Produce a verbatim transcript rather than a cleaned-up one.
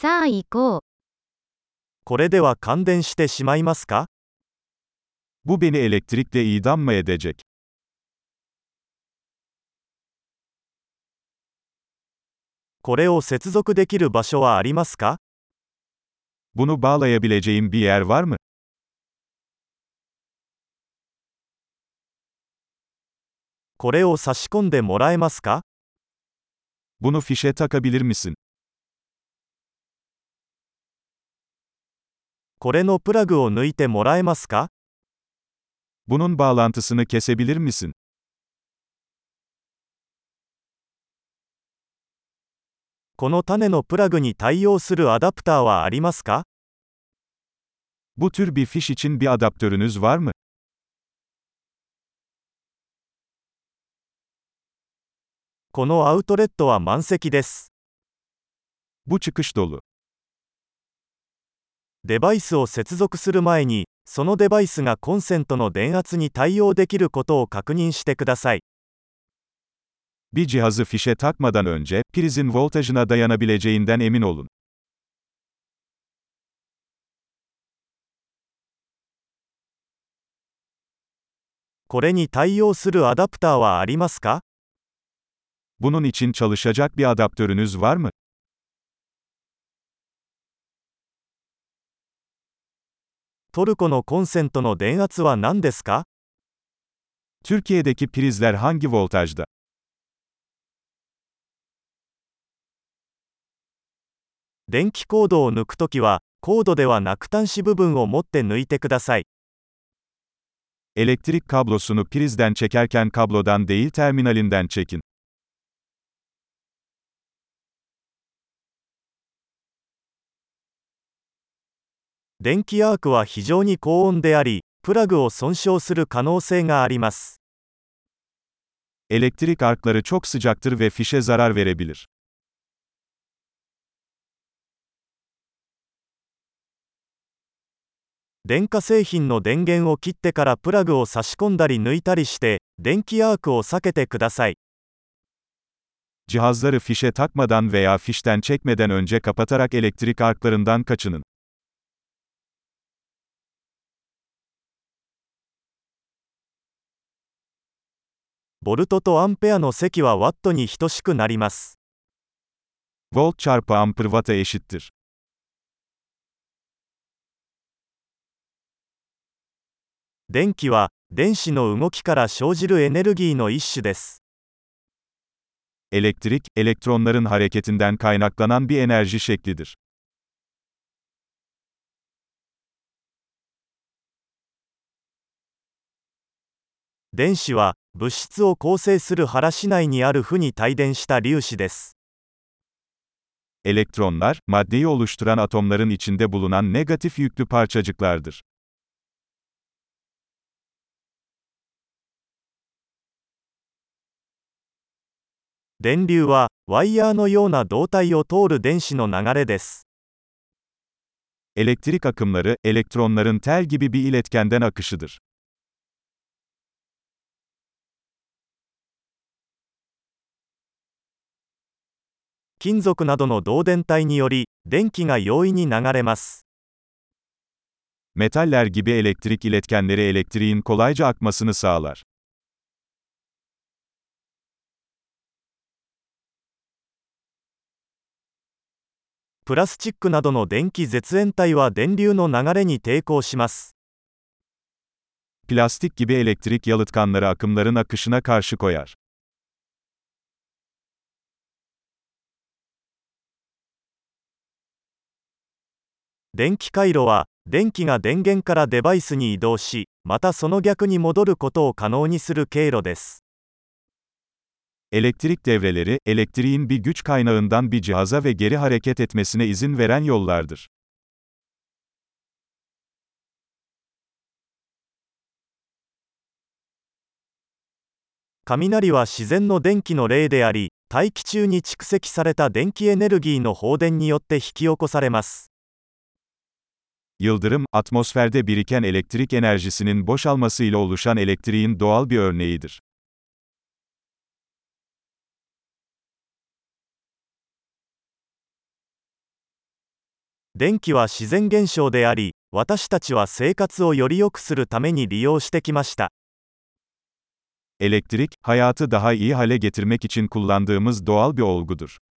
さあ行こう。 これでは感電してしまいますか？ Bu beni elektrikle idam mı edecek? これを接続できる場所はありますか？ Bunu bağlayabileceğim bir yer var mı? これを差し込んでもらえますか？ Bunu fişe takabilir misin? これのプラグを抜いてもらえますか？ Bunun bağlantısını kesebilir misin? この種のプラグに対応するアダプターはありますか？ Bu tür bir fiş için bir adaptörünüz var mı? このアウトレットは満席です。 Bu çıkış dolu. デバイスを接続する前に、そのデバイスがコンセントの電圧に対応できることを確認してください。 Bir cihazı fişe takmadan önce, prizin voltajına dayanabileceğinden emin olun. これに対応するアダプターはありますか？ Bunun için çalışacak bir adaptörünüz var mı? トルコのコンセントの電圧は何ですか？ Türkiye'deki prizler hangi voltajda? 電気コードを抜くときは、コードではなく端子部分を持って抜いてください。 Elektrik kablosunu prizden çekerken kablodan değil terminalinden çekin. 電気アークは非常に高温であり、プラグを損傷する可能性があります。 Elektrik arkları çok sıcaktır ve fişe zarar verebilir. 電化製品の電源を切ってからプラグを差し込んだり抜いたりして、電気アークを避けてください。 Cihazları fişe takmadan veya fişten çekmeden önce kapatarak elektrik arklarından kaçının. ボルトとアンペアの積はワットに等しくなります。 Volt çarpı amper watt'a eşittir. 電気は、電子の動きから生じるエネルギーの一種です。 Elektrik, elektronların hareketinden kaynaklanan bir enerji şeklidir. 電子は、物質を構成する原子内にある負に帯電した粒子です。 Elektronlar, maddeyi oluşturan atomların içinde bulunan negatif yüklü parçacıklardır. 電流は、ワイヤーのような導体を通る電子の流れです。 Elektrik akımları, elektronların tel gibi bir iletkenden akışıdır. 金属などの導電体により、電気が容易に流れます。 Metaller gibi elektrik iletkenleri elektriğin kolayca akmasını sağlar. プラスチックなどの電気絶縁体は電流の流れに抵抗します。 Plastik gibi elektrik yalıtkanları akımların akışına karşı koyar. 電気回路は、電気が電源からデバイスに移動し、またその逆に戻ることを可能にする経路です。 Elektrik devreleri, elektriğin bir güç kaynağından bir cihaza ve geri hareket etmesine izin veren yollardır. 雷は自然の電気の例であり、大気中に蓄積された電気エネルギーの放電によって引き起こされます。 Yıldırım, atmosferde biriken elektrik enerjisinin boşalmasıyla oluşan elektriğin doğal bir örneğidir. 電気は自然現象であり、私たちは生活をより良くするために利用してきました。 Elektrik, hayatı daha iyi hale getirmek için kullandığımız doğal bir olgudur.